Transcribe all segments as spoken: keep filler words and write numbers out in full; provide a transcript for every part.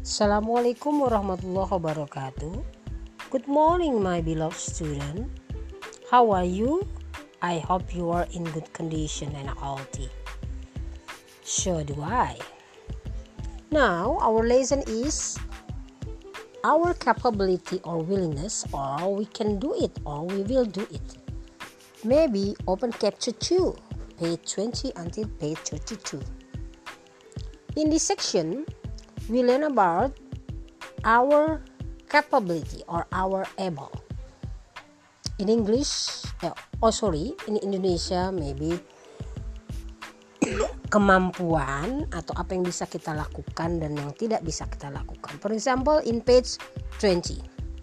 Assalamualaikum warahmatullahi wabarakatuh. Good morning, my beloved student. How are you? I hope you are in good condition and healthy. So do I. Now, our lesson is our capability or willingness, or we can do it, or we will do it. Maybe open chapter two, page twenty until page thirty-two. In this section, we learn about our capability or our able. In English, uh, oh sorry, in Indonesia maybe kemampuan atau apa yang bisa kita lakukan dan yang tidak bisa kita lakukan. For example, in page twenty.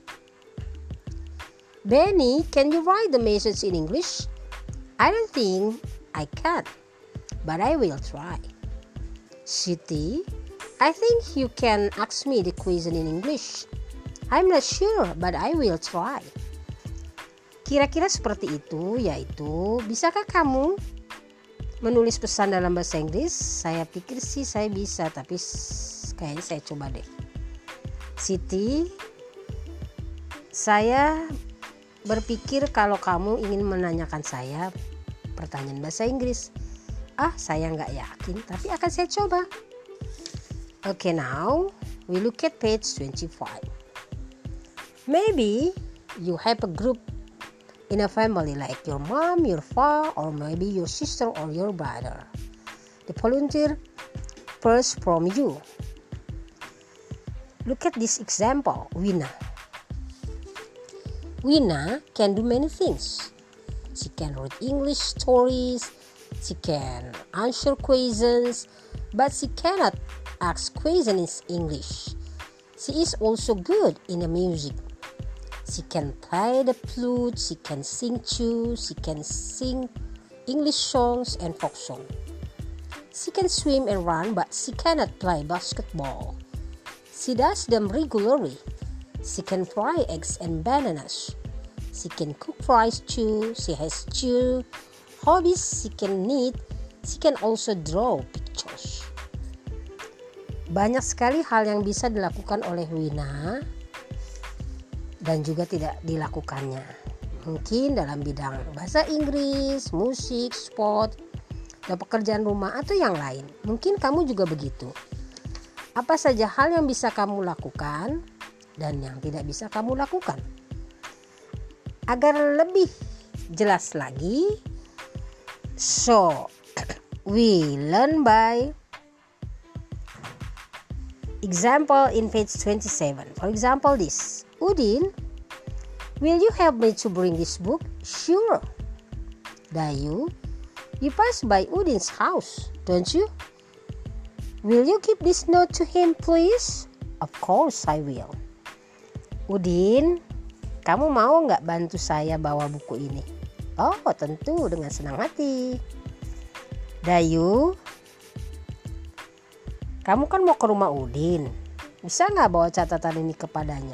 Benny, can you write the message in English? I don't think I can, but I will try. Siti, I think you can ask me the question in English. I'm not sure, but I will try. Kira-kira seperti itu, yaitu, bisakah kamu menulis pesan dalam bahasa Inggris? Saya pikir sih saya bisa, tapi kayaknya saya coba deh. Siti, saya berpikir kalau kamu ingin menanyakan saya pertanyaan bahasa Inggris. Ah, saya nggak yakin, tapi akan saya coba. Okay, now we look at page twenty-five. Maybe you have a group in a family like your mom, your father, or maybe your sister or your brother. The volunteer first from you. Look at this example, Wina. Wina can do many things. She can read English stories, she can answer questions, but she cannot ask questions in English. She is also good in the music. She can play the flute, she can sing too, she can sing English songs and folk songs. She can swim and run, but she cannot play basketball. She does them regularly. She can fry eggs and bananas. She can cook fries too. She has two hobbies. She can knit. She can also draw pictures. Banyak sekali hal yang bisa dilakukan oleh Wina dan juga tidak dilakukannya. Mungkin dalam bidang bahasa Inggris, musik, sport, dan pekerjaan rumah atau yang lain. Mungkin kamu juga begitu. Apa saja hal yang bisa kamu lakukan dan yang tidak bisa kamu lakukan? Agar lebih jelas lagi, so we learn by example in page twenty-seven. For example, this. Udin, will you help me to bring this book? Sure. Dayu, you pass by Udin's house, don't you? Will you give this note to him, please? Of course I will. Udin, kamu mau nggak bantu saya bawa buku ini? Oh, tentu, dengan senang hati. Dayu, kamu kan mau ke rumah Udin. Bisa nggak bawa catatan ini kepadanya?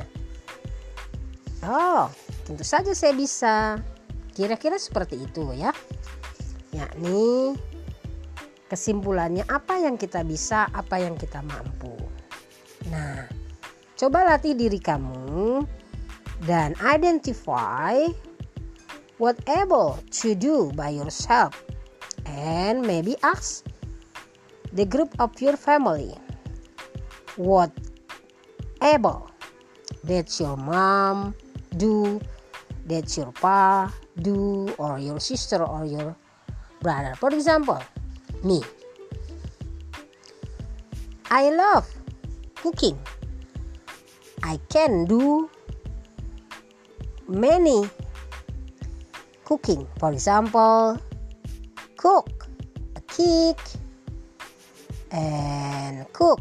Oh, tentu saja saya bisa. Kira-kira seperti itu ya. Yakni kesimpulannya apa yang kita bisa, apa yang kita mampu. Nah, coba latih diri kamu dan identify what able to do by yourself. And maybe ask the group of your family what able that your mom do, that your pa do, or your sister or your brother. For example, me. I love cooking. I can do many cooking. For example, cook a cake and cook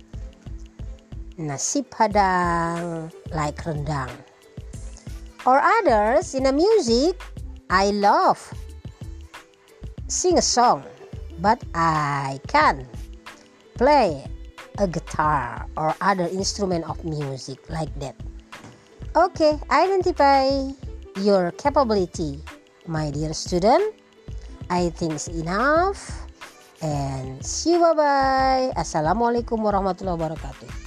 nasi padang like rendang. Or others in the music, I love sing a song, but I can play a guitar or other instrument of music like that. Okay, identify your capability, my dear student. I think it's enough. And see you, bye bye. Assalamualaikum warahmatullahi wabarakatuh.